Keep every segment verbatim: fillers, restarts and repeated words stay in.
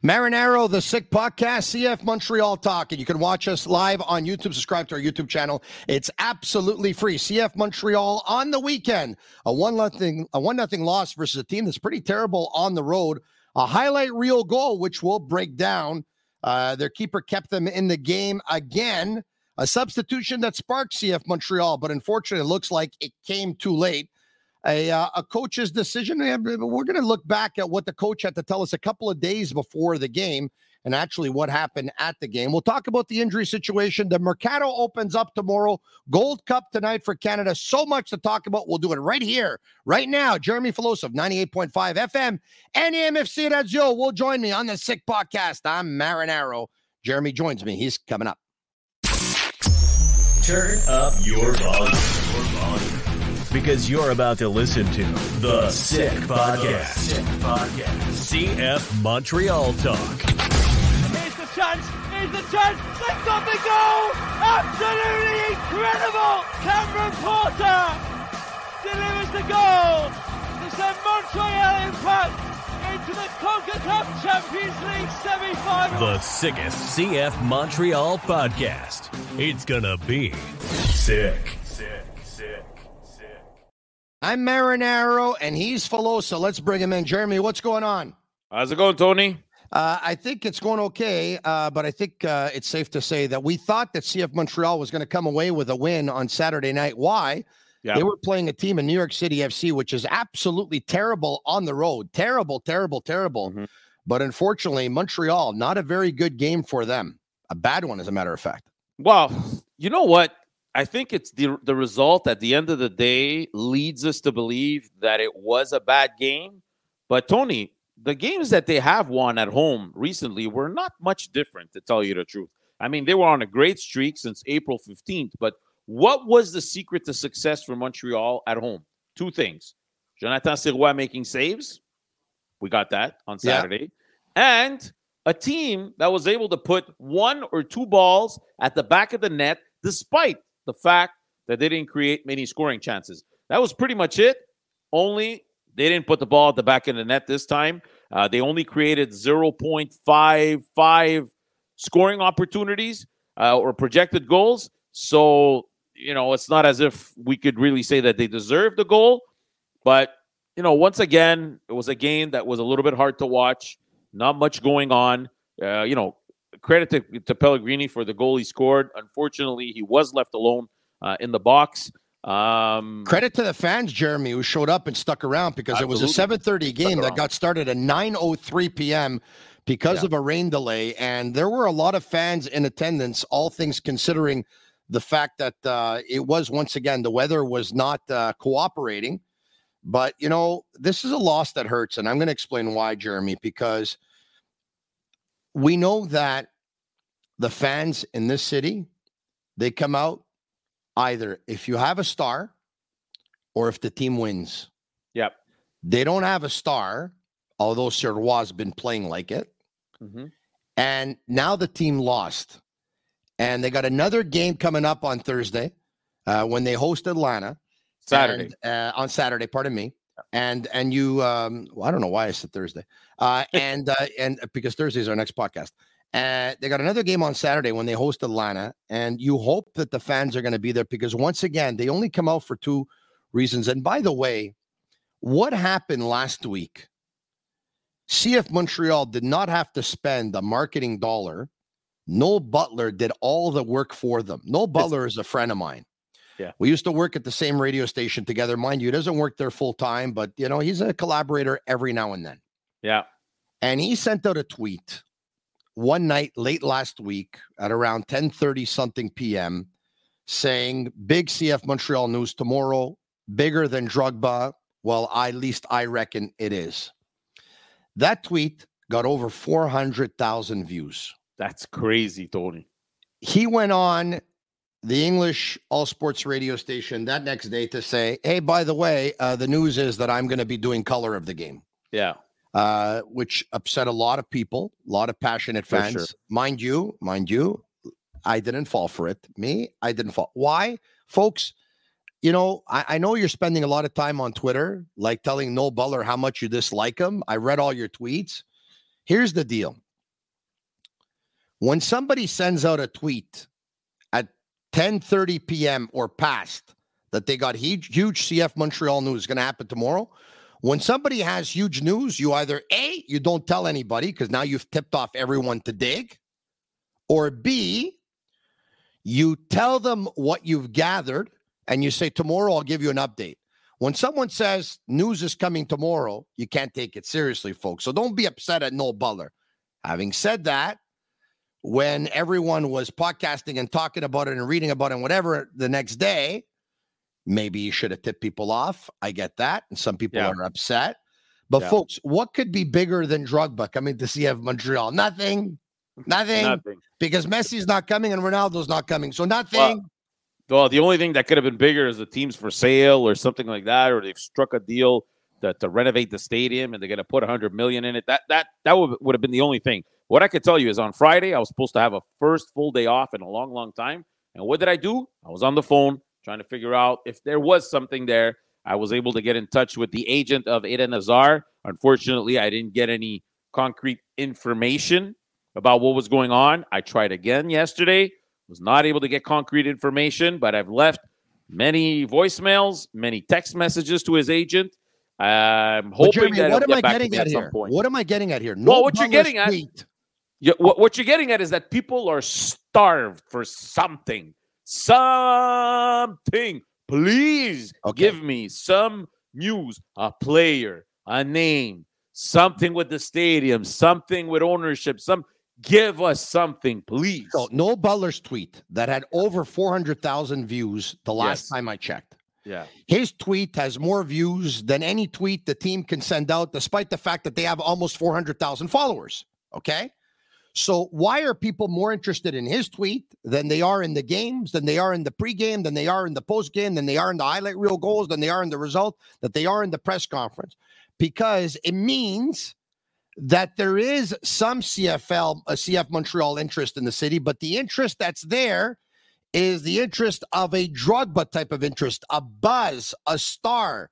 Marinaro, the Sick Podcast, C F Montreal Talk. And you can watch us live on YouTube. Subscribe to our YouTube channel. It's absolutely free. C F Montreal on the weekend. A one nothing a one nothing loss versus a team that's pretty terrible on the road. A highlight reel goal, which we'll break down. Uh, their keeper kept them in the game again. A substitution that sparked C F Montreal, but unfortunately, it looks like it came too late. A, uh, a coach's decision. We're going to look back at what the coach had to tell us a couple of days before the game and actually what happened at the game. We'll talk about the injury situation. The Mercato opens up tomorrow. Gold Cup tonight for Canada. So much to talk about. We'll do it right here, right now. Jeremy Filosa, ninety-eight point five F M and A M F C Radio will join me on the Sick Podcast. I'm Marinaro. Jeremy joins me. He's coming up. Turn up your volume. Your volume. Because you're about to listen to The Sick Podcast. Sick Podcast. C F Montreal Talk. Here's the chance. Here's the chance. They've got the goal. Absolutely incredible. Cameron Porter delivers the goal to send Montreal Impact into the CONCACAF Champions League semi-final. The sickest C F Montreal podcast. It's gonna be sick. Sick, sick. I'm Marinaro, and he's Filosa. Let's bring him in. Jeremy, what's going on? How's it going, Tony? Uh, I think it's going okay, uh, but I think uh, it's safe to say that we thought that C F Montreal was going to come away with a win on Saturday night. Why? Yeah. They were playing a team in New York City F C, which is absolutely terrible on the road. Terrible, terrible, terrible. Mm-hmm. But unfortunately, Montreal, not a very good game for them. A bad one, as a matter of fact. Well, you know what? I think it's the the result at the end of the day leads us to believe that it was a bad game. But, Tony, the games that they have won at home recently were not much different, to tell you the truth. I mean, they were on a great streak since April fifteenth. But what was the secret to success for Montreal at home? Two things. Jonathan Sirois making saves. We got that on Saturday. Yeah. And a team that was able to put one or two balls at the back of the net despite the fact that they didn't create many scoring chances. That was pretty much it. Only they didn't put the ball at the back of the net this time. Uh, they only created zero point five five scoring opportunities uh, or projected goals. So, you know, it's not as if we could really say that they deserved the goal. But, you know, once again, it was a game that was a little bit hard to watch. Not much going on. Uh, you know, credit to, to Pellegrini for the goal he scored. Unfortunately, he was left alone uh, in the box. Um, credit to the fans, Jeremy, who showed up and stuck around because absolutely. It was a seven thirty game that got started at nine oh three p.m. because yeah. of a rain delay. And there were a lot of fans in attendance, all things considering the fact that uh, it was, once again, the weather was not uh, cooperating. But, you know, this is a loss that hurts. And I'm going to explain why, Jeremy, because we know that the fans in this city, they come out either if you have a star or if the team wins. Yep. They don't have a star, although Sirois has been playing like it. Mm-hmm. And now the team lost. And they got another game coming up on Thursday uh, when they host Atlanta. Saturday. And, uh, on Saturday, pardon me. And and you, um, well, I don't know why I said Thursday. Uh, and uh, and because Thursday is our next podcast. And uh, they got another game on Saturday when they host Atlanta. And you hope that the fans are going to be there because, once again, they only come out for two reasons. And by the way, what happened last week? C F Montreal did not have to spend a marketing dollar. Noel Butler did all the work for them. Noel Butler is a friend of mine. Yeah. We used to work at the same radio station together. Mind you, he doesn't work there full time, but, you know, he's a collaborator every now and then. Yeah. And he sent out a tweet one night late last week at around ten thirty something p.m. saying, big C F Montreal news tomorrow, bigger than Drogba. Well, I, at least I reckon it is. That tweet got over four hundred thousand views. That's crazy, Tony. He went on the English All Sports radio station that next day to say, hey, by the way, uh, the news is that I'm going to be doing color of the game. Yeah. Uh, which upset a lot of people, a lot of passionate fans. Sure. Mind you, mind you, I didn't fall for it. Me, I didn't fall. Why? Folks, you know, I, I know you're spending a lot of time on Twitter, like telling Noel Butler how much you dislike him. I read all your tweets. Here's the deal. When somebody sends out a tweet at ten thirty p.m. or past that they got huge, huge C F Montreal news going to happen tomorrow, when somebody has huge news, you either A, you don't tell anybody because now you've tipped off everyone to dig, or B, you tell them what you've gathered and you say, tomorrow I'll give you an update. When someone says news is coming tomorrow, you can't take it seriously, folks. So don't be upset at Noel Butler. Having said that, when everyone was podcasting and talking about it and reading about it and whatever the next day, maybe you should have tipped people off. I get that. And some people Yeah. are upset. But Yeah. folks, what could be bigger than Drogba coming to C F Montreal? Nothing. Nothing. Nothing. Because Messi's not coming and Ronaldo's not coming. So nothing. Well, well, the only thing that could have been bigger is the team's for sale or something like that, or they've struck a deal to, to renovate the stadium and they're going to put one hundred million dollars in it. That that that would, would have been the only thing. What I could tell you is on Friday, I was supposed to have a first full day off in a long, long time. And what did I do? I was on the phone trying to figure out if there was something there. I was able to get in touch with the agent of Eden Hazard. Unfortunately, I didn't get any concrete information about what was going on. I tried again yesterday. Was not able to get concrete information, but I've left many voicemails, many text messages to his agent. I'm But hoping Jeremy, that what he'll am I get back to getting me at at some here? point. What am I getting at here? Well, Noel what you're Butler's getting at- tweet. Yeah, what, what you're getting at is that people are starved for something. Something. Please Okay. give me some news, a player, a name, something with the stadium, something with ownership. Some give us something, please. So Noel Butler's tweet that had over four hundred thousand views the last Yes. time I checked. Yeah. His tweet has more views than any tweet the team can send out, despite the fact that they have almost four hundred thousand followers. Okay. So why are people more interested in his tweet than they are in the games, than they are in the pregame, than they are in the postgame, than they are in the highlight reel goals, than they are in the result, that they are in the press conference? Because it means that there is some C F L, a C F Montreal interest in the city, but the interest that's there is the interest of a Drogba type of interest, a buzz, a star.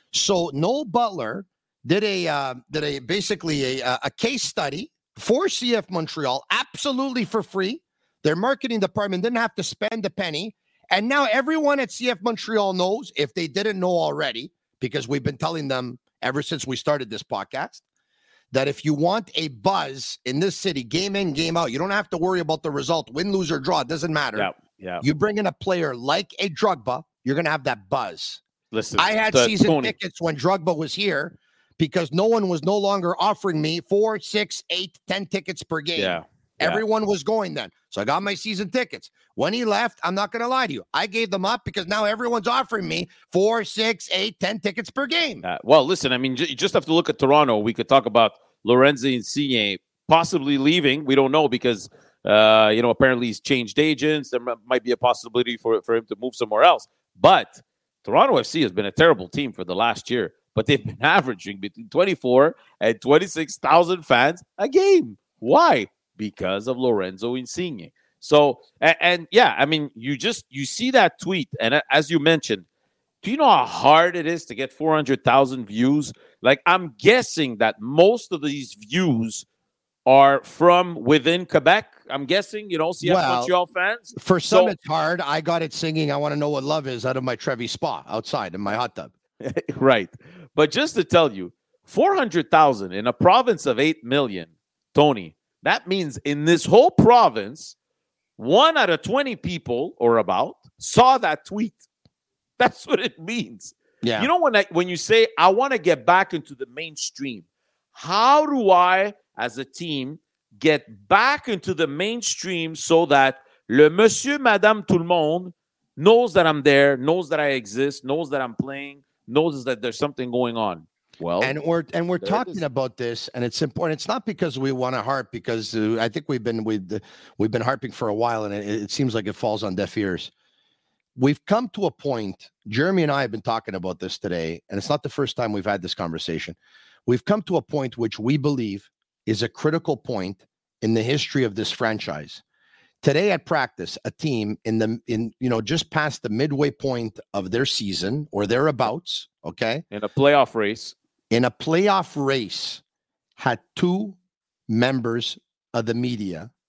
So Noel Butler did a uh, did a basically a, a case study for C F Montreal, absolutely for free. Their marketing department didn't have to spend a penny. And now everyone at C F Montreal knows, if they didn't know already, because we've been telling them ever since we started this podcast, that if you want a buzz in this city, game in, game out, you don't have to worry about the result, win, lose, or draw. It doesn't matter. Yeah. Yeah. You bring in a player like a Drogba, you're going to have that buzz. Listen, I had to season Tony. tickets when Drogba was here because no one was no longer offering me four, six, eight, ten tickets per game. Yeah. yeah. Everyone was going then. So I got my season tickets. When he left, I'm not going to lie to you, I gave them up because now everyone's offering me four, six, eight, ten tickets per game. Uh, well, listen, I mean, j- you just have to look at Toronto. We could talk about Lorenzo Insigne possibly leaving. We don't know because, uh, you know, apparently he's changed agents. There m- might be a possibility for, for him to move somewhere else. But Toronto F C has been a terrible team for the last year, but they've been averaging between twenty-four and twenty-six thousand fans a game. Why? Because of Lorenzo Insigne. So, and, and yeah, I mean, you just, you see that tweet. And uh, as you mentioned, do you know how hard it is to get four hundred thousand views? Like, I'm guessing that most of these views are from within Quebec. I'm guessing, you know, C F Well, Montreal fans. For some, So- it's hard. I got it singing I Want to Know What Love Is out of my Trevi spa outside in my hot tub. Right. But just to tell you, four hundred thousand in a province of eight million, Tony, that means in this whole province, one out of twenty people or about saw that tweet. That's what it means. Yeah. You know, when I, when you say, I want to get back into the mainstream, how do I, as a team, get back into the mainstream so that le monsieur, madame, tout le monde knows that I'm there, knows that I exist, knows that I'm playing, knows that there's something going on? Well, And we're and we're there it talking is. about this, and it's important. It's not because we want to harp, because uh, I think we've been we've we've been harping for a while, and it, it seems like it falls on deaf ears. We've come to a point. Jeremy and I have been talking about this today, and it's not the first time we've had this conversation. We've come to a point which we believe is a critical point in the history of this franchise. Today at practice, a team in the in you know just past the midway point of their season or thereabouts, okay, in a playoff race, in a playoff race, had two members of the media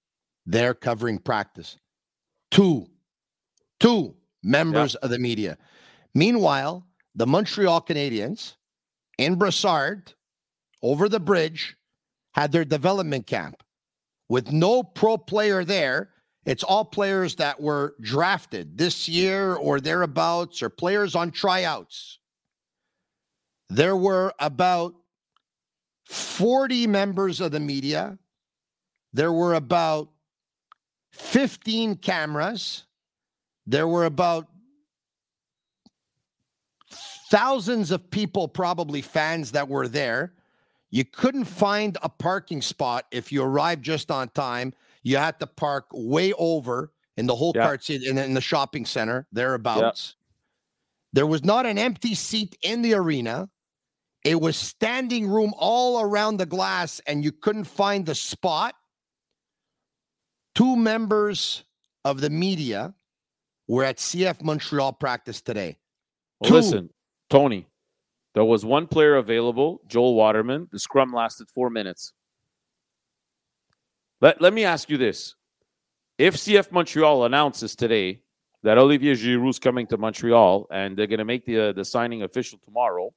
there covering practice. Two, two members yep. of the media. Meanwhile, the Montreal Canadiens in Brassard, over the bridge, had their development camp with no pro player there. It's all players that were drafted this year or thereabouts, or players on tryouts. There were about forty members of the media. There were about fifteen cameras. There were about thousands of people, probably fans, that were there. You couldn't find a parking spot if you arrived just on time. You had to park way over in the whole yeah. cart seat in, in the shopping center, thereabouts. Yeah. There was not an empty seat in the arena. It was standing room all around the glass, and you couldn't find the spot. Two members of the media were at C F Montreal practice today. Well, listen, Tony, there was one player available, Joel Waterman. The scrum lasted four minutes. Let, let me ask you this. If C F Montreal announces today that Olivier Giroux is coming to Montreal and they're going to make the, uh, the signing official tomorrow,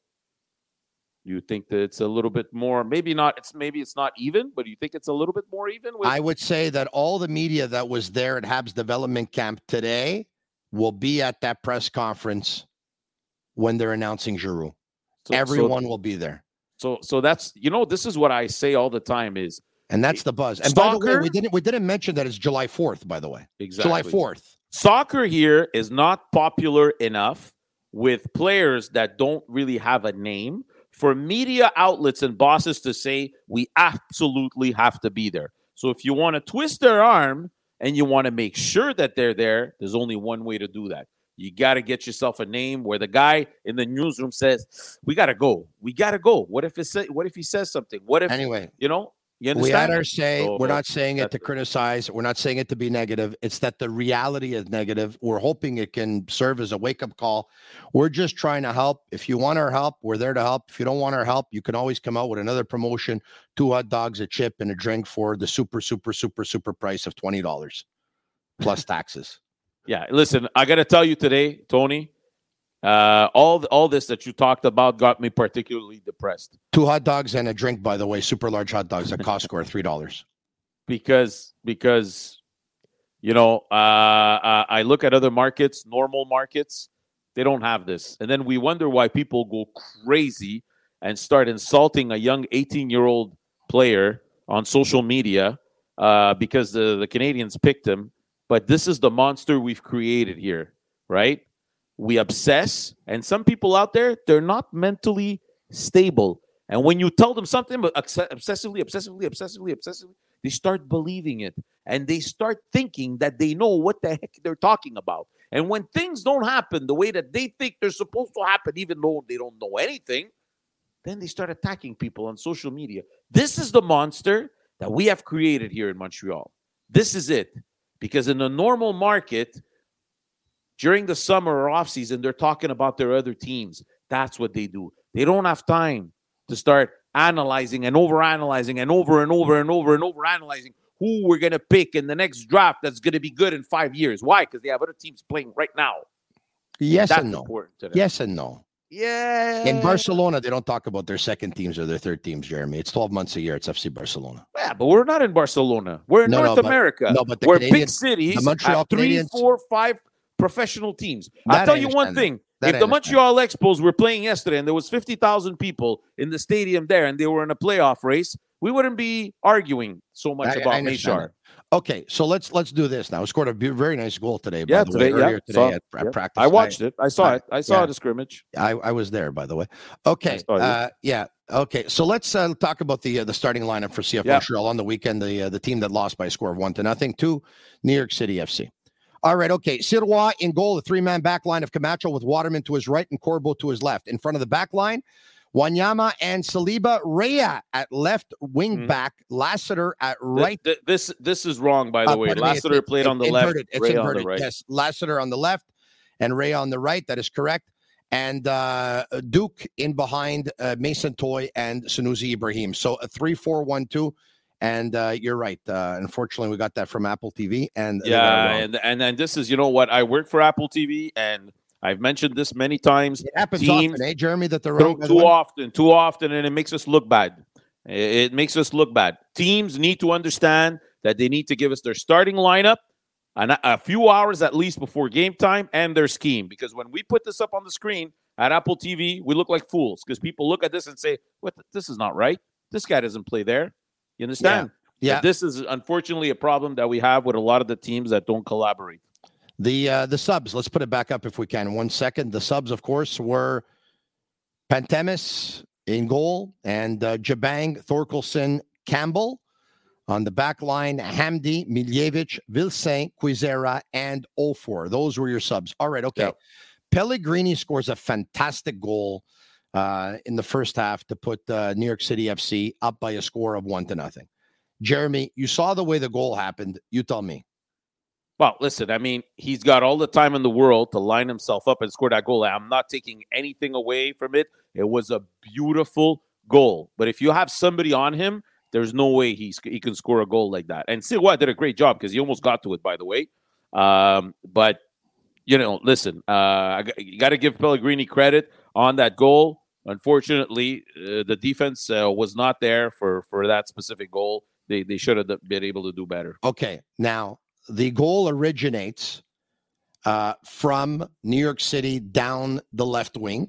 you think that it's a little bit more, maybe not, it's maybe it's not even, but you think it's a little bit more even? With- I would say that all the media that was there at Habs development camp today will be at that press conference when they're announcing Giroux. So, Everyone so, will be there. So, so that's, you know, this is what I say all the time is, and that's the buzz. And soccer, by the way, we didn't we didn't mention that it's July fourth, by the way. Exactly. July fourth. Soccer here is not popular enough with players that don't really have a name for media outlets and bosses to say, we absolutely have to be there. So if you want to twist their arm and you want to make sure that they're there, there's only one way to do that. You got to get yourself a name where the guy in the newsroom says, we got to go. We got to go. What if it's, what if he says something? What if, anyway, you know, you understand? We had our say. So, we're not saying it to criticize. We're not saying it to be negative. It's that the reality is negative. We're hoping it can serve as a wake-up call. We're just trying to help. If you want our help, we're there to help. If you don't want our help, you can always come out with another promotion, two hot dogs, a chip, and a drink for the super, super, super, super price of twenty dollars plus taxes. Yeah, listen, I got to tell you today, Tony, uh, all all this that you talked about got me particularly depressed. Two hot dogs and a drink, by the way, super large hot dogs at Costco are three dollars. Because, because, you know, uh, uh, I look at other markets, normal markets, they don't have this. And then we wonder why people go crazy and start insulting a young eighteen-year-old player on social media uh, because the, the Canadians picked him. But this is the monster we've created here, right? We obsess, and some people out there, they're not mentally stable. And when you tell them something, but obsessively, obsessively, obsessively, obsessively, they start believing it. And they start thinking that they know what the heck they're talking about. And when things don't happen the way that they think they're supposed to happen, even though they don't know anything, then they start attacking people on social media. This is the monster that we have created here in Montreal. This is it. Because in the normal market, during the summer or off season, they're talking about their other teams. That's what they do. They don't have time to start analyzing and overanalyzing and over and over and over and over analyzing who we're going to pick in the next draft that's going to be good in five years. Why? Because they have other teams playing right now. Yes that's and no. Important yes and no. Yeah. In Barcelona, they don't talk about their second teams or their third teams, Jeremy. It's twelve months a year. It's F C Barcelona. Yeah, but we're not in Barcelona. We're in no, North no, but, America. No, but the where Canadian, big cities the Montreal have three, Canadians, four, five professional teams. That I'll tell you one thing. If the Montreal Expos were playing yesterday and there was fifty thousand people in the stadium there and they were in a playoff race, we wouldn't be arguing so much I, about Méchard. Okay, so let's let's do this now. We scored a very nice goal today, by yeah, the today, way, earlier yeah, today saw, at, at yeah. practice. I watched I, it. I saw I, it. I saw yeah. the scrimmage. I, I was there, by the way. Okay, uh, yeah, okay. So let's uh, talk about the uh, the starting lineup for C F yeah. Montreal on the weekend. The uh, the team that lost by a score of one to nothing to New York City F C. All right, okay. Sirois in goal, the three-man back line of Camacho with Waterman to his right and Corbeau to his left. In front of the back line, Wanyama and Saliba. Rhea at left wing mm-hmm. back. Lassiter at right. This this, this is wrong, by the uh, way. Lassiter it, played it, on the inverted. left. It's Rhea inverted. On the right. Yes, Lassiter on the left and Rhea on the right. That is correct. And uh, Duke in behind uh, Mason Toye and Sunusi Ibrahim. So a three four one two. And uh, you're right. Uh, unfortunately, we got that from Apple T V. And yeah, and and then this is, you know what? I work for Apple T V, and I've mentioned this many times. It happens Teams, often, eh, Jeremy, that they're too, wrong. too often, too often, and it makes us look bad. It, it makes us look bad. Teams need to understand that they need to give us their starting lineup and a, a few hours at least before game time and their scheme. Because when we put this up on the screen at Apple T V, we look like fools because people look at this and say, "What? This is not right. This guy doesn't play there." You understand? Yeah. yeah. This is unfortunately a problem that we have with a lot of the teams that don't collaborate. The uh, the subs, let's put it back up if we can. One second. The subs, of course, were Pantemis in goal and uh, Jabang, Thorkelson, Campbell. On the back line, Hamdi, Miljevic, Vilsaint, Quizera, and Ofor. Those were your subs. All right, okay. Yep. Pellegrini scores a fantastic goal uh, in the first half to put uh, New York City F C up by a score of one to nothing. Jeremy, you saw the way the goal happened. You tell me. Well, listen, I mean, he's got all the time in the world to line himself up and score that goal. I'm not taking anything away from it. It was a beautiful goal. But if you have somebody on him, there's no way he's, he can score a goal like that. And Sirois did a great job because he almost got to it, by the way. Um, but, you know, listen, uh, you got to give Pellegrini credit on that goal. Unfortunately, uh, the defense uh, was not there for, for that specific goal. They, they should have been able to do better. Okay, now, the goal originates uh, from New York City down the left wing.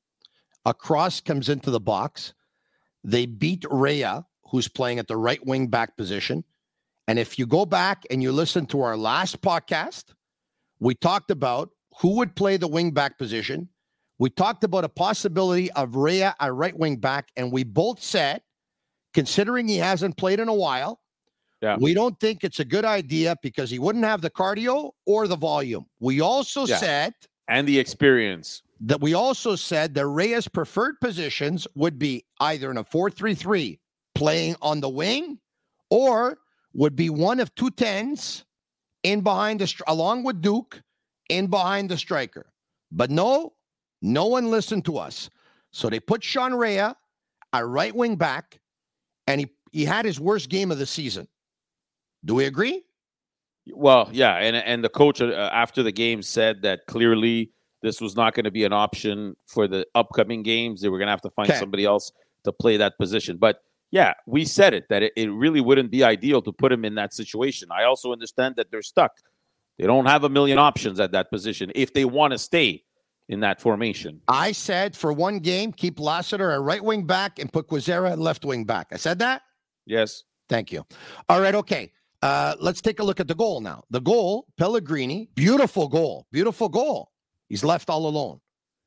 A cross comes into the box. They beat Rea, who's playing at the right wing back position. And if you go back and you listen to our last podcast, we talked about who would play the wing back position. We talked about a possibility of Rea at right wing back. And we both said, considering he hasn't played in a while, yeah. we don't think it's a good idea because he wouldn't have the cardio or the volume. We also yeah. said... And the experience. That we also said that Rea's preferred positions would be either in a four three three, playing on the wing, or would be one of two tens in behind the, along with Duke, in behind the striker. But no, no one listened to us. So they put Sean Rea, a right wing back, and he, he had his worst game of the season. Do we agree? Well, yeah, and and the coach uh, after the game said that clearly this was not going to be an option for the upcoming games. They were going to have to find okay. somebody else to play that position. But yeah, we said it, that it, it really wouldn't be ideal to put him in that situation. I also understand that they're stuck. They don't have a million options at that position if they want to stay in that formation. I said for one game, keep Lassiter at right wing back and put Quizera at left wing back. I said that? Yes. Thank you. All right, okay. Uh, let's take a look at the goal now. The goal, Pellegrini, beautiful goal, beautiful goal. He's left all alone.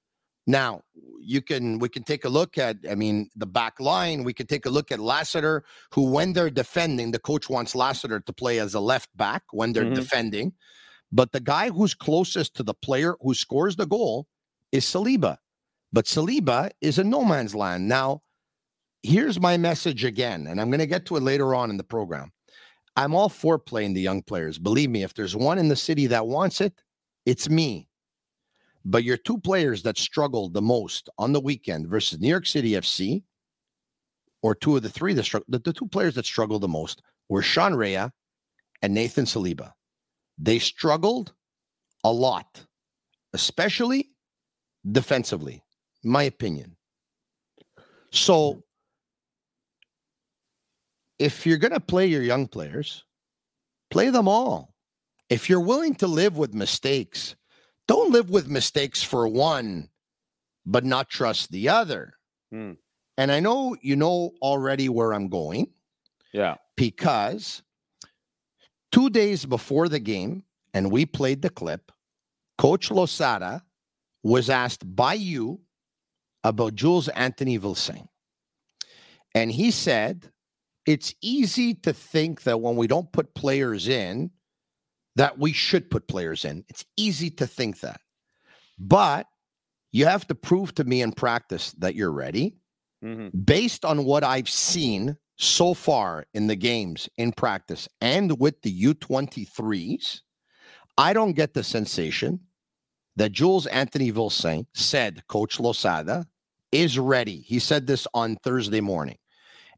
Now, you can we can take a look at, I mean, the back line. We can take a look at Lassiter, who when they're defending, the coach wants Lassiter to play as a left back when they're mm-hmm. defending. But the guy who's closest to the player who scores the goal is Saliba. But Saliba is in no man's land. Now, here's my message again, and I'm going to get to it later on in the program. I'm all for playing the young players. Believe me, if there's one in the city that wants it, it's me. But your two players that struggled the most on the weekend versus New York City F C, or two of the three that struggled, the, the two players that struggled the most were Sean Rea and Nathan Saliba. They struggled a lot, especially defensively, in my opinion. So, if you're going to play your young players, play them all. If you're willing to live with mistakes, don't live with mistakes for one, but not trust the other. Hmm. And I know you know already where I'm going. Yeah. Because two days before the game, and we played the clip, Coach Losada was asked by you about Jules Anthony Vilsaint. And he said, it's easy to think that when we don't put players in, that we should put players in. It's easy to think that. But you have to prove to me in practice that you're ready. Mm-hmm. Based on what I've seen so far in the games, in practice, and with the U twenty-threes, I don't get the sensation that Jules Anthony Vilsaint said Coach Losada is ready. He said this on Thursday morning.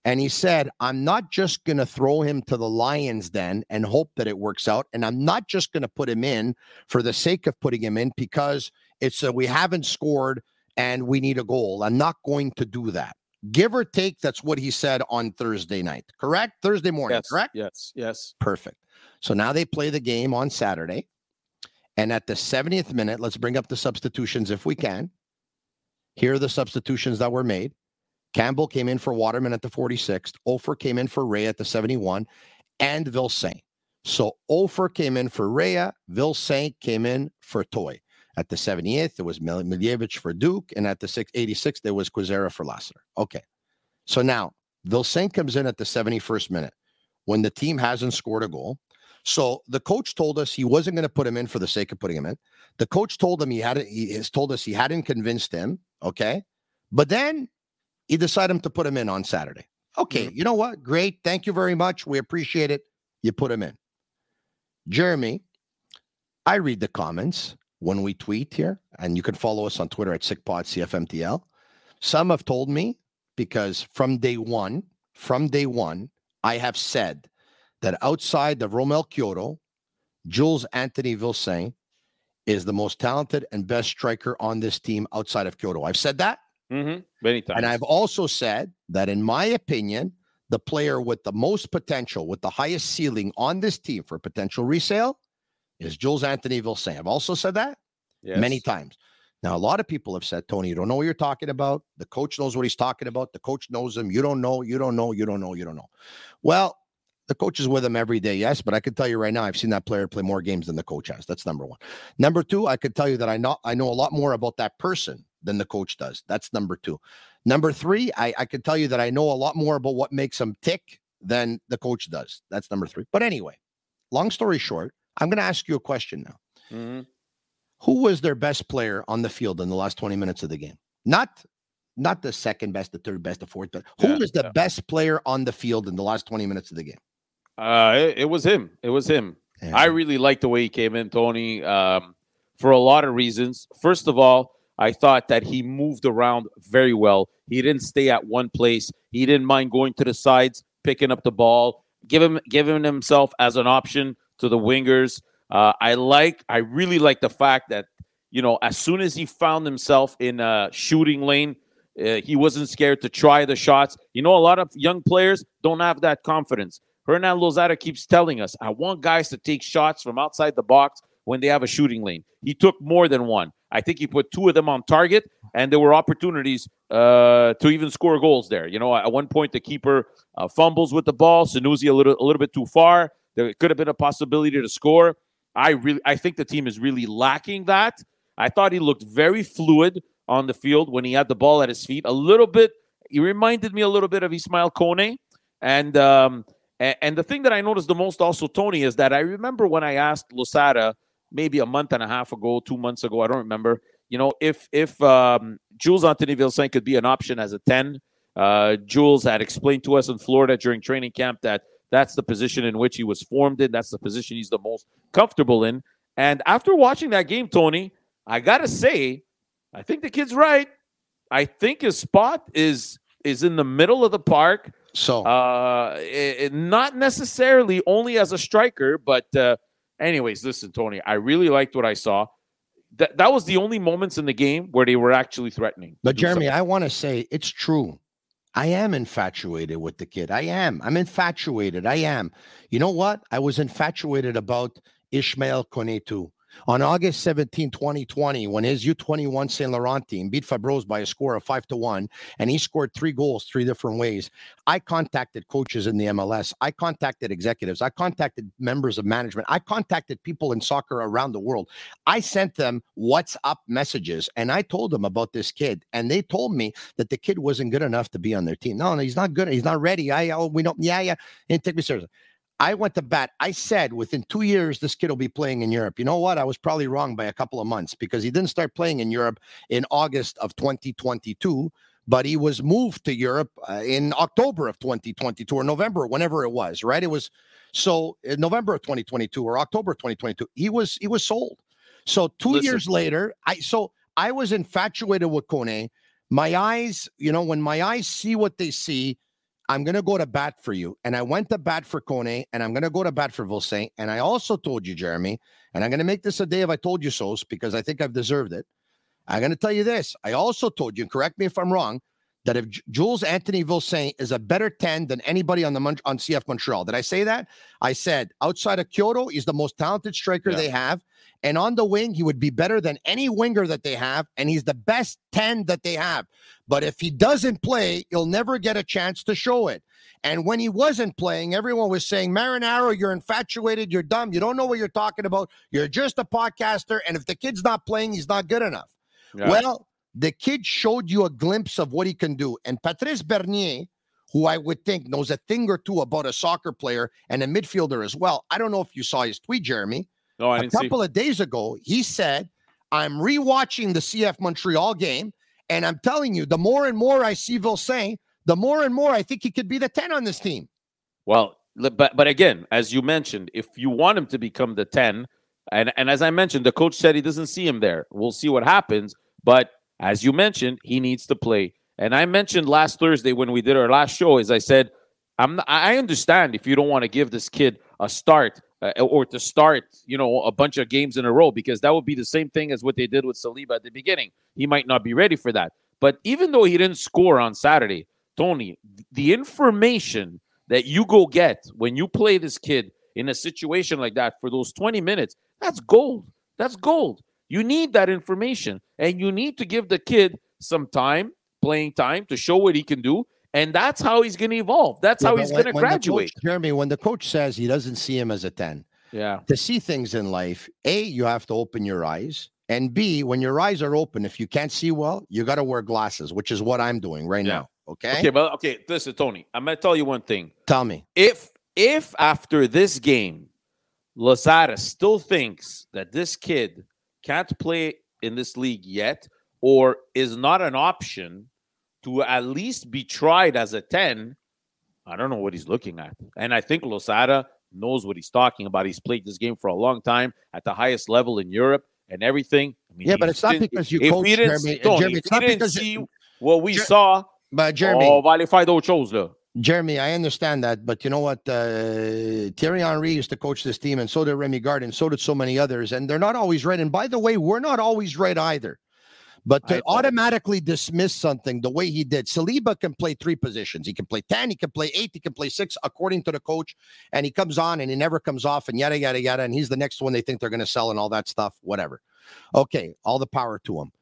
And he said, I'm not just going to throw him to the lion's den and hope that it works out. And I'm not just going to put him in for the sake of putting him in because it's a, we haven't scored and we need a goal. I'm not going to do that. Give or take, that's what he said on Thursday night. Correct? Thursday morning, yes, correct? Yes, yes. Perfect. So now they play the game on Saturday. And at the seventieth minute, let's bring up the substitutions if we can. Here are the substitutions that were made. Campbell came in for Waterman at the forty-sixth. Ofer came in for Ray at the seventy-one. And Vilsaint. So Ofer came in for Rea. Vilsaint came in for Toy. At the seventieth, it was Miljevic for Duke. And at the eighty-sixth, there was Quizera for Lassiter. Okay. So now, Vilsaint comes in at the seventy-first minute when the team hasn't scored a goal. So the coach told us he wasn't going to put him in for the sake of putting him in. The coach told him he hadn't, he has told us he hadn't convinced him. Okay. But then he decided to put him in on Saturday. Okay. Mm-hmm. You know what? Great. Thank you very much. We appreciate it. You put him in. Jeremy, I read the comments when we tweet here, and you can follow us on Twitter at SickPodCFMTL. Some have told me, because from day one, from day one, I have said that outside of Romel Kyoto, Jules Anthony Vilsaint is the most talented and best striker on this team outside of Kyoto. I've said that. Mm-hmm. Many times. And I've also said that, in my opinion, the player with the most potential, with the highest ceiling on this team for potential resale is Jules Anthony Vilsaint. I've also said that yes. many times. Now, a lot of people have said, Tony, you don't know what you're talking about. The coach knows what he's talking about. The coach knows him. You don't know. You don't know. You don't know. You don't know. Well, the coach is with him every day, yes, but I can tell you right now, I've seen that player play more games than the coach has. That's number one. Number two, I could tell you that I know I know a lot more about that person than the coach does. That's number two. Number three, I, I could tell you that I know a lot more about what makes him tick than the coach does. That's number three. But anyway, long story short, I'm going to ask you a question now. Mm-hmm. Who was their best player on the field in the last twenty minutes of the game? Not, not the second best, the third best, the fourth best. Who yeah, was the yeah. best player on the field in the last twenty minutes of the game? Uh, it, it was him. It was him. Yeah. I really liked the way he came in, Tony, um, for a lot of reasons. First of all, I thought that he moved around very well. He didn't stay at one place. He didn't mind going to the sides, picking up the ball, give him, giving himself as an option to the wingers. Uh, I like, I really like the fact that, you know, as soon as he found himself in a shooting lane, uh, he wasn't scared to try the shots. You know, a lot of young players don't have that confidence. Hernan Lozada keeps telling us, I want guys to take shots from outside the box when they have a shooting lane. He took more than one. I think he put two of them on target, and there were opportunities uh, to even score goals there. You know, at one point, the keeper uh, fumbles with the ball. Sanusi a little, a little bit too far. There could have been a possibility to score. I really, I think the team is really lacking that. I thought he looked very fluid on the field when he had the ball at his feet. A little bit, he reminded me a little bit of Ismail Kone. And um, and, and the thing that I noticed the most also, Tony, is that I remember when I asked Losada maybe a month and a half ago, two months ago, I don't remember, you know, if if um, Jules Anthony Vilsaint could be an option as a ten. Uh, Jules had explained to us in Florida during training camp that that's the position in which he was formed in. That's the position he's the most comfortable in. And after watching that game, Tony, I got to say, I think the kid's right. I think his spot is is in the middle of the park. So, uh, it, not necessarily only as a striker, but uh, anyways, listen, Tony, I really liked what I saw. That that was the only moments in the game where they were actually threatening. But Jeremy, something. I want to say it's true. I am infatuated with the kid. I am. I'm infatuated. I am. You know what? I was infatuated about Ismail Kone too. On August seventeenth, twenty twenty, when his U twenty-one Saint Laurent team beat Fabreau's by a score of five to one, and he scored three goals three different ways, I contacted coaches in the M L S. I contacted executives. I contacted members of management. I contacted people in soccer around the world. I sent them WhatsApp messages, and I told them about this kid, and they told me that the kid wasn't good enough to be on their team. No, no, he's not good. He's not ready. I, oh, we don't. Yeah, yeah. He didn't take me seriously. I went to bat. I said within two years, this kid will be playing in Europe. You know what? I was probably wrong by a couple of months because he didn't start playing in Europe in August of twenty twenty-two, but he was moved to Europe uh, in October of twenty twenty-two or November, whenever it was, right? It was so in November of twenty twenty-two or October of twenty twenty-two, he was, he was sold. So two Listen. years later, I, so I was infatuated with Kone. My eyes, you know, when my eyes see what they see, I'm going to go to bat for you. And I went to bat for Kone, and I'm going to go to bat for Vilsaint. And I also told you, Jeremy, and I'm going to make this a day of I told you so, because I think I've deserved it. I'm going to tell you this. I also told you, and correct me if I'm wrong, that if J- Jules Anthony Vilsaint is a better ten than anybody on the Mon- on C F Montreal. Did I say that? I said outside of Kyoto, he's the most talented striker yeah. they have. And on the wing, he would be better than any winger that they have. And he's the best ten that they have. But if he doesn't play, he'll never get a chance to show it. And when he wasn't playing, everyone was saying, Marinaro, you're infatuated. You're dumb. You don't know what you're talking about. You're just a podcaster. And if the kid's not playing, he's not good enough. Yeah. Well, the kid showed you a glimpse of what he can do. And Patrice Bernier, who I would think knows a thing or two about a soccer player and a midfielder as well. I don't know if you saw his tweet, Jeremy. No, I a didn't couple see. of days ago, he said, I'm rewatching the C F Montreal game, and I'm telling you, the more and more I see Vilsaint, the more and more I think he could be the ten on this team. Well, but but again, as you mentioned, if you want him to become the ten, and, and as I mentioned, the coach said he doesn't see him there. We'll see what happens. But as you mentioned, he needs to play. And I mentioned last Thursday when we did our last show, is I said, I'm not, I understand if you don't want to give this kid a start uh, or to start, you know, a bunch of games in a row, because that would be the same thing as what they did with Saliba at the beginning. He might not be ready for that. But even though he didn't score on Saturday, Tony, the information that you go get when you play this kid in a situation like that for those twenty minutes, that's gold. That's gold. You need that information, and you need to give the kid some time, playing time, to show what he can do, and that's how he's going to evolve. That's yeah, how he's going to graduate. Coach, Jeremy, when the coach says he doesn't see him as a ten, yeah, to see things in life, A, you have to open your eyes, and B, when your eyes are open, if you can't see well, you got to wear glasses, which is what I'm doing right yeah. now. Okay. Okay, but okay, listen, Tony, I'm going to tell you one thing. Tell me. If if after this game, Losada still thinks that this kid can't play in this league yet, or is not an option to at least be tried as a ten, I don't know what he's looking at. And I think Losada knows what he's talking about. He's played this game for a long time at the highest level in Europe and everything. I mean, yeah, but it's not because you coach, Jeremy. Tony, Jeremy, it's not because see you, what we Jer- saw. But Jeremy, oh, vale fai d'autres choses, là. Jeremy, I understand that, but you know what? Uh, Thierry Henry used to coach this team, and so did Remy Gard, and so did so many others, and they're not always right. And by the way, we're not always right either. But to automatically dismiss something the way he did, Saliba can play three positions. He can play ten, he can play eight, he can play six, according to the coach, and he comes on and he never comes off, and yada, yada, yada, and he's the next one they think they're going to sell and all that stuff, whatever. Okay, all the power to him.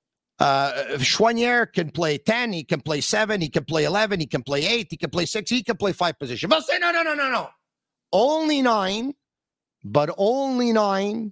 Uh, Choinière can play ten, he can play seven, he can play eleven, he can play eight, he can play six, he can play five positions. But say, no, no, no, no, no. Only nine, but only nine.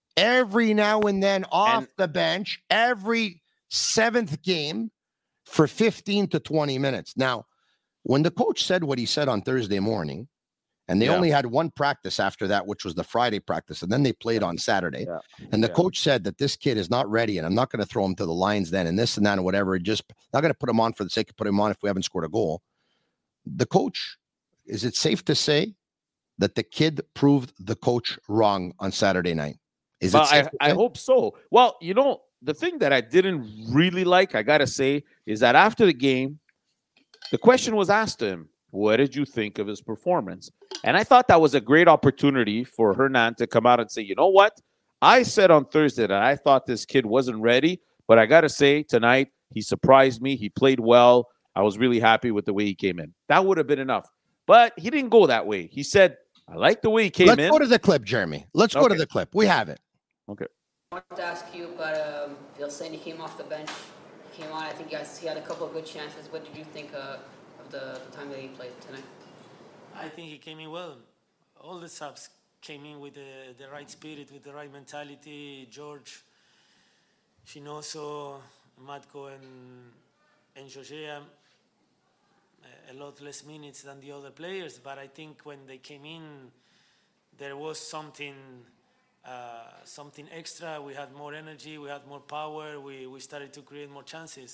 Every now and then off and, the bench, every seventh game for fifteen to twenty minutes. Now, when the coach said what he said on Thursday morning, and they yeah. only had one practice after that, which was the Friday practice, and then they played on Saturday, yeah. and the yeah. coach said that this kid is not ready, and I'm not going to throw him to the lines then, and this and that and whatever, just not going to put him on for the sake of putting him on if we haven't scored a goal. The coach, is it safe to say that the kid proved the coach wrong on Saturday night? Is well, it I, I hope so. Well, you know, the thing that I didn't really like, I got to say, is that after the game, the question was asked to him, what did you think of his performance? And I thought that was a great opportunity for Hernan to come out and say, you know what? I said on Thursday that I thought this kid wasn't ready, but I got to say tonight, he surprised me. He played well. I was really happy with the way he came in. That would have been enough. But he didn't go that way. He said, I like the way he came Let's in. Let's go to the clip, Jeremy. Let's okay. go to the clip. We have it. Okay. I wanted to ask you about um, Vilsaint. He came off the bench. He came on. I think he, has, he had a couple of good chances. What did you think uh, of the, the time that he played tonight? I think he came in well. All the subs came in with the, the right spirit, with the right mentality. George, Chinoso, Matko, and, and José, um, a lot less minutes than the other players. But I think when they came in, there was something... Uh, something extra. We had more energy, we had more power, we, we started to create more chances.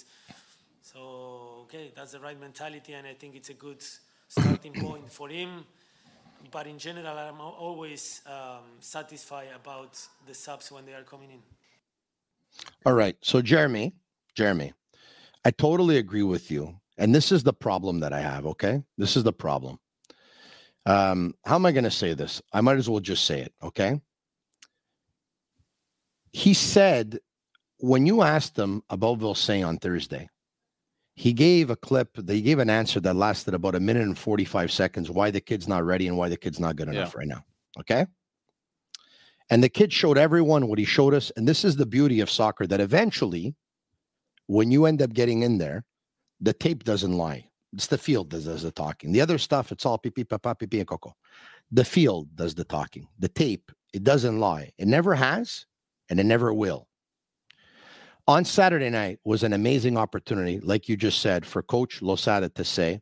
So, okay, that's the right mentality, and I think it's a good starting point for him. But in general, I'm always um, satisfied about the subs when they are coming in. All right. So, Jeremy, Jeremy, I totally agree with you. And this is the problem that I have, okay? This is the problem. Um, how am I going to say this? I might as well just say it, okay? He said, when you asked him about Vilsaint on Thursday, he gave a clip, they gave an answer that lasted about a minute and forty-five seconds, why the kid's not ready and why the kid's not good enough yeah. right now, okay? And the kid showed everyone what he showed us, and this is the beauty of soccer, that eventually, when you end up getting in there, the tape doesn't lie. It's the field that does the talking. The other stuff, it's all pipi, papa, pipi, and coco. The field does the talking. The tape, it doesn't lie. It never has, and it never will. On Saturday night was an amazing opportunity, like you just said, for Coach Losada to say,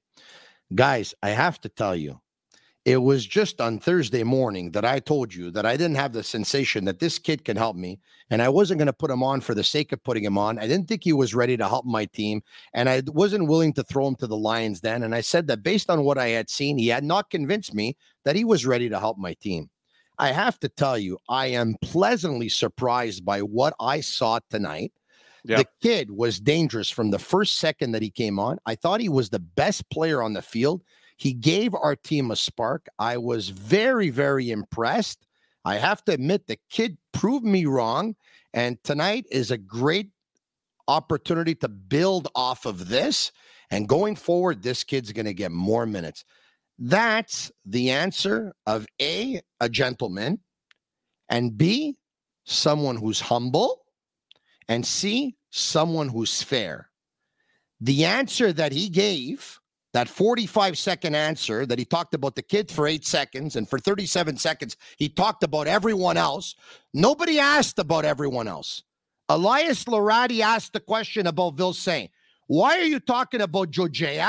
guys, I have to tell you, it was just on Thursday morning that I told you that I didn't have the sensation that this kid can help me, and I wasn't going to put him on for the sake of putting him on. I didn't think he was ready to help my team, and I wasn't willing to throw him to the Lions then. And I said that based on what I had seen, he had not convinced me that he was ready to help my team. I have to tell you, I am pleasantly surprised by what I saw tonight. Yep. The kid was dangerous from the first second that he came on. I thought he was the best player on the field. He gave our team a spark. I was very, very impressed. I have to admit, the kid proved me wrong. And tonight is a great opportunity to build off of this. And going forward, this kid's going to get more minutes. That's the answer of A, a gentleman, and B, someone who's humble, and C, someone who's fair. The answer that he gave, that forty-five second answer that he talked about the kid for eight seconds, and for thirty-seven seconds, he talked about everyone else. Nobody asked about everyone else. Elias Larati asked the question about Vilsaint. Why are you talking about Jojea?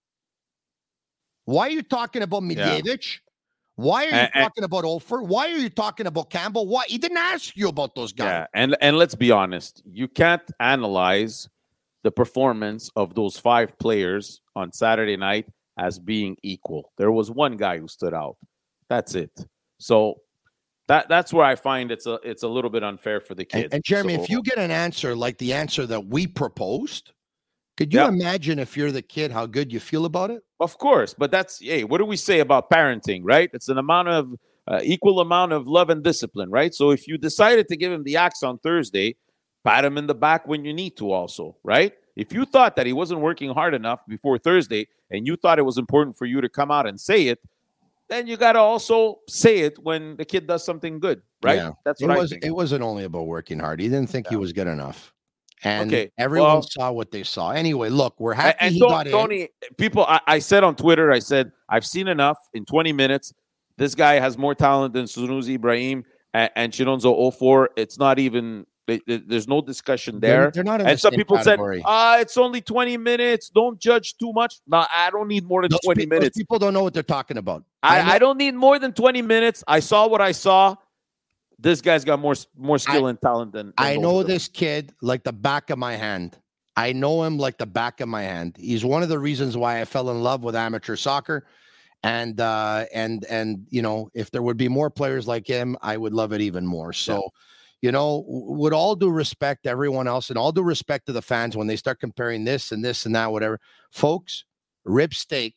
Why are you talking about Miljevic? Yeah. Why are you and, talking and, about Ofer? Why are you talking about Campbell? Why? He didn't ask you about those guys. Yeah, and, and let's be honest. You can't analyze the performance of those five players on Saturday night as being equal. There was one guy who stood out. That's it. So that that's where I find it's a it's a little bit unfair for the kids. And, and Jeremy, so, if you get an answer like the answer that we proposed, could you yeah. imagine if you're the kid how good you feel about it? Of course, but that's hey, what do we say about parenting, right? It's an amount of uh, equal amount of love and discipline, right? So if you decided to give him the axe on Thursday, pat him in the back when you need to also, right? If you thought that he wasn't working hard enough before Thursday and you thought it was important for you to come out and say it, then you got to also say it when the kid does something good, right? Yeah. That's what it I was. Think. It wasn't only about working hard. He didn't think yeah. he was good enough. And okay. everyone well, saw what they saw. Anyway, look, we're happy and he Tony, got in. Tony, people, I, I said on Twitter, I said, I've seen enough in twenty minutes. This guy has more talent than Sunusi Ibrahim and, and Chinonso Ofor. It's not even, it, it, there's no discussion there. They're, they're not in and the some same people category. said, ah, it's only twenty minutes. Don't judge too much. No, I don't need more than those twenty pe- minutes. Those people don't know what they're talking about. I, I, I don't need more than twenty minutes. I saw what I saw. This guy's got more, more skill I, and talent than, than I know this kid like the back of my hand. I know him like the back of my hand. He's one of the reasons why I fell in love with amateur soccer. And, uh, and, and, you know, if there would be more players like him, I would love it even more. So, yeah. you know, with all due respect to everyone else and all due respect to the fans, when they start comparing this and this and that, whatever, folks, rib steak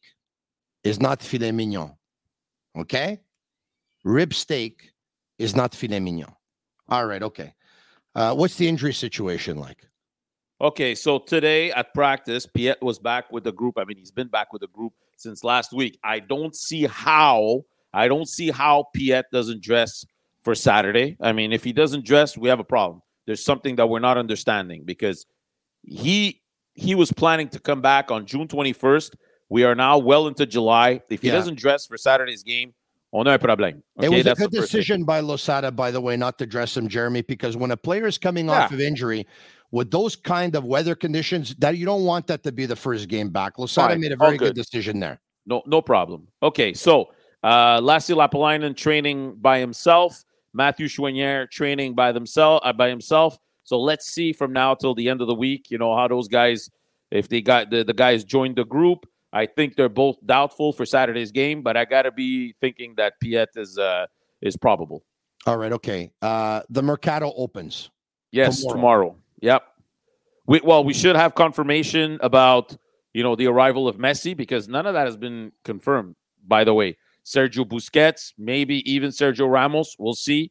is not filet mignon. Okay. Rib steak is not filet mignon. All right. Okay. Uh, what's the injury situation like? Okay, so today at practice, Piet was back with the group. I mean, he's been back with the group since last week. I don't see how, I don't see how Piet doesn't dress for Saturday. I mean, if he doesn't dress, we have a problem. There's something that we're not understanding because he he was planning to come back on June twenty-first. We are now well into July. If he yeah. doesn't dress for Saturday's game, on a un problème. Okay? It was That's a good decision by Losada, by the way, not to dress him, Jeremy, because when a player is coming yeah. off of injury, with those kind of weather conditions, that you don't want that to be the first game back. Losada right. made a very good. good decision there. No, no problem. Okay, so uh, Lassi Lapalainen training by himself, Matthew Chouinière training by themselves uh, by himself. So let's see from now till the end of the week, you know, how those guys, if they got the, the guys joined the group. I think they're both doubtful for Saturday's game, but I got to be thinking that Piet is uh, is probable. All right, okay. Uh, the Mercato opens. Yes, tomorrow. tomorrow. Yep. We, well, we should have confirmation about you know, the arrival of Messi, because none of that has been confirmed, by the way. Sergio Busquets, maybe even Sergio Ramos. We'll see.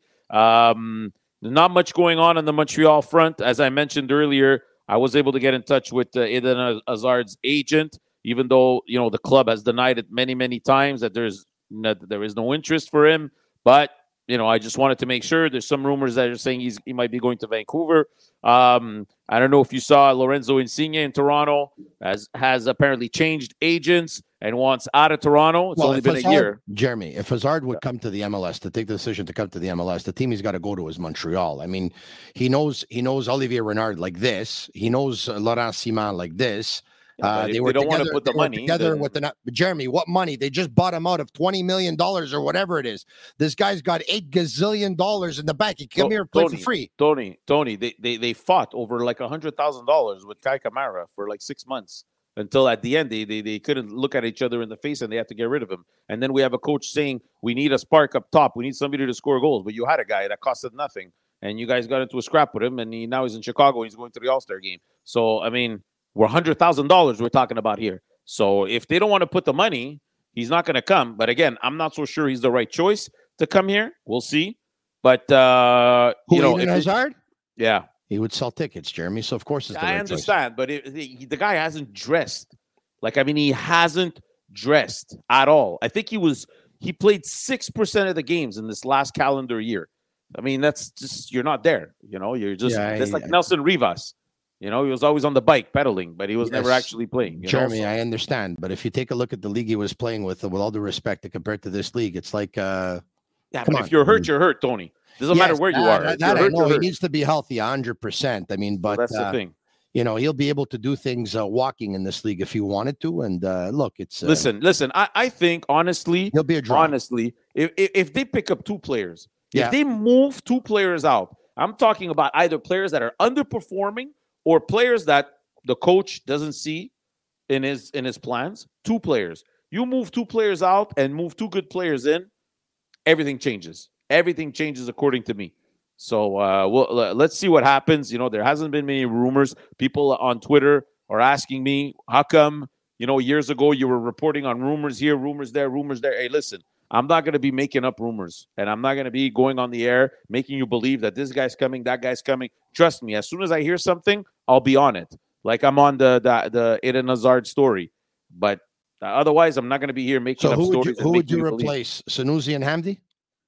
Um, not much going on on the Montreal front. As I mentioned earlier, I was able to get in touch with uh, Eden Hazard's agent, even though, you know, the club has denied it many, many times that there's no, there is no interest for him. But, you know, I just wanted to make sure. There's some rumors that are saying he's he might be going to Vancouver. Um, I don't know if you saw Lorenzo Insigne in Toronto has has apparently changed agents and wants out of Toronto. It's well, only been Hazard, a year. Jeremy, if Hazard would come to the M L S, to take the decision to come to the M L S, the team he's got to go to is Montreal. I mean, he knows he knows Olivier Renard like this. He knows uh, Laurent Ciman like this. Yeah, uh, they, they were were don't together, want to put the they were money together then... with the Jeremy. What money? They just bought him out of twenty million dollars or whatever it is. This guy's got eight gazillion dollars in the bank. He can come to- here and play Tony, for free. Tony, Tony, they, they, they fought over like one hundred thousand dollars with Kai Kamara for like six months until at the end they, they, they couldn't look at each other in the face and they had to get rid of him. And then we have a coach saying, we need a spark up top. We need somebody to score goals. But you had a guy that costed nothing. And you guys got into a scrap with him. And he, now he's in Chicago. He's going to the All-Star game. So, I mean, we're one hundred thousand dollars we're talking about here. So if they don't want to put the money, he's not going to come. But again, I'm not so sure he's the right choice to come here. We'll see. But, uh, Who, you know, Eden if it- Hazard? yeah. He would sell tickets, Jeremy. So of course it's the I right understand, but it, he, the guy hasn't dressed. Like, I mean, he hasn't dressed at all. I think he was he played six percent of the games in this last calendar year. I mean, that's just you're not there. You know, you're just Yeah, that's I- like Nelson Rivas. You know, he was always on the bike pedaling, but he was never Yes. actually playing. You Jeremy, know? So- I understand, but if you take a look at the league he was playing with, with all due respect, compared to this league, it's like, uh, yeah, come but on. if you're hurt, you're hurt, Tony. Doesn't matter yes, where you that- are. That, If that you're I hurt, know you're he hurt. needs to be healthy, a hundred percent. I mean, but So that's uh, the thing. you know, he'll be able to do things uh, walking in this league if he wanted to. And uh, look, it's uh, Listen, listen. I, I think honestly, he'll be a draw. honestly, if, if if they pick up two players, Yeah. if they move two players out, I'm talking about either players that are underperforming or players that the coach doesn't see in his in his plans. Two players. You move two players out and move two good players in, everything changes. Everything changes according to me. So uh, well, let's see what happens. You know, there hasn't been many rumors. People on Twitter are asking me, how come, you know, years ago you were reporting on rumors here, rumors there, rumors there. Hey, listen, I'm not going to be making up rumors, and I'm not going to be going on the air making you believe that this guy's coming, that guy's coming. Trust me, as soon as I hear something, I'll be on it. Like I'm on the the, the Eden Hazard story. But uh, otherwise, I'm not going to be here making So up who would stories. you, and who would making you believe. replace, Sanusi and Hamdi?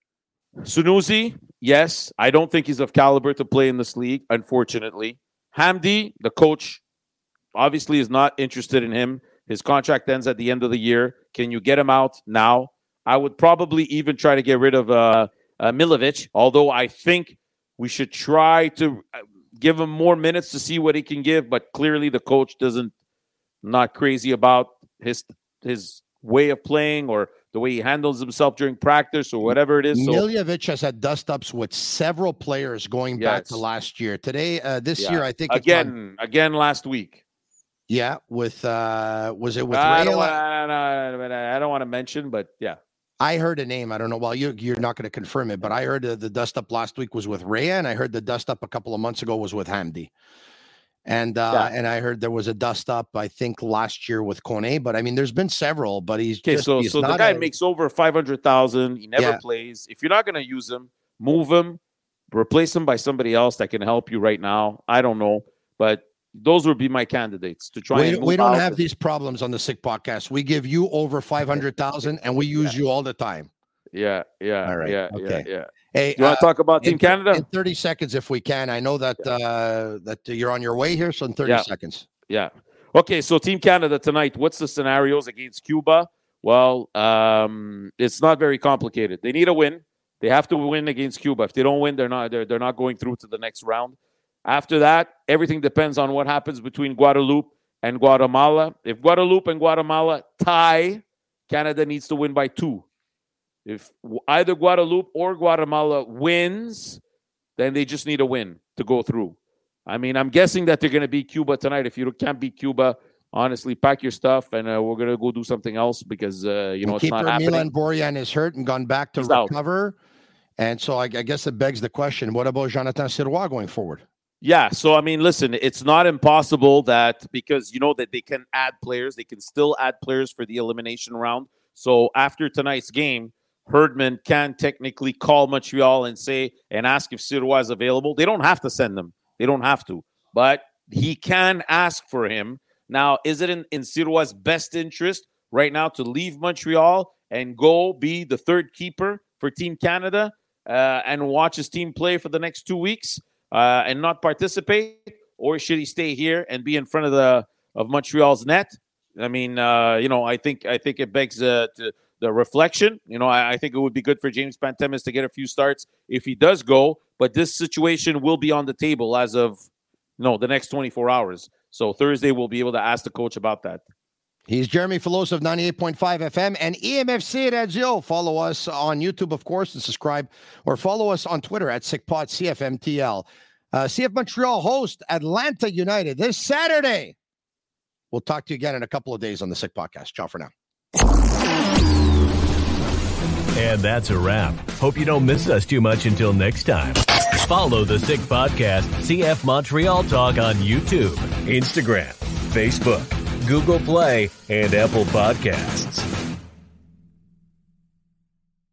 Sunusi, yes. I don't think he's of caliber to play in this league, unfortunately. Hamdi, the coach, obviously is not interested in him. His contract ends at the end of the year. Can you get him out now? I would probably even try to get rid of uh, uh, Milovic, although I think we should try to give him more minutes to see what he can give. But clearly the coach doesn't, not crazy about his his way of playing or the way he handles himself during practice or whatever it is. So, Miljevic has had dust-ups with several players going back to Yes. last year. Today, uh, this yeah. year, I think it's again, on- again last week. yeah, with uh, was it with I Ray? don't, want, I, don't, I don't want to mention, but yeah. I heard a name. I don't know. Well, you, you're not going to confirm it, but I heard uh, the dust up last week was with Rhea, and I heard the dust up a couple of months ago was with Hamdi. And uh, Yeah. and I heard there was a dust up, I think, last year with Kone. But I mean, there's been several. But he's Okay, just, so he's so the not guy a- makes over five hundred thousand. He never Yeah. plays. If you're not going to use him, move him, replace him by somebody else that can help you right now. I don't know, but those would be my candidates to try. We, and we move don't out have the- these problems on the Sick Podcast. We give you over five hundred thousand, and we use you all the time. Yeah, yeah, All right, yeah, okay. yeah, yeah. Hey, You want uh, to talk about Team in, Canada? in thirty seconds, if we can. I know that uh, that you're on your way here, so in thirty Yeah. seconds. Yeah. Okay, so Team Canada tonight, what's the scenarios against Cuba? Well, um, it's not very complicated. They need a win. They have to win against Cuba. If they don't win, they're not they're, they're not going through to the next round. After that, everything depends on what happens between Guadeloupe and Guatemala. If Guadeloupe and Guatemala tie, Canada needs to win by two. If either Guadeloupe or Guatemala wins, then they just need a win to go through. I mean, I'm guessing that they're going to beat Cuba tonight. If you can't beat Cuba, honestly, pack your stuff and uh, we're going to go do something else because, uh, you know, And it's not keeper happening. Milan Borjan is hurt and gone back to He's out. recover. And so I, I guess it begs the question, what about Jonathan Sirois going forward? Yeah, so I mean, listen, it's not impossible that because you know that they can add players, they can still add players for the elimination round. So after tonight's game, Herdman can technically call Montreal and say and ask if Sirois is available. They don't have to send them. They don't have to. But he can ask for him. Now, is it in, in Sirois' best interest right now to leave Montreal and go be the third keeper for Team Canada uh, and watch his team play for the next two weeks uh, and not participate? Or should he stay here and be in front of the of Montreal's net? I mean, uh, you know, I think I think it begs uh, to, the reflection. You know, I, I think it would be good for James Pantemis to get a few starts if he does go. But this situation will be on the table as of no the next twenty-four hours. So Thursday we'll be able to ask the coach about that. He's Jeremy Filosa of ninety-eight point five F M and E M F C Radio. Follow us on YouTube, of course, and subscribe, or follow us on Twitter at SickPod C F M T L. Uh, C F Montreal host Atlanta United this Saturday. We'll talk to you again in a couple of days on the Sick Podcast. Ciao for now. And that's a wrap. Hope you don't miss us too much until next time. Follow the Sick Podcast, C F Montreal Talk on YouTube, Instagram, Facebook, Google Play, and Apple Podcasts.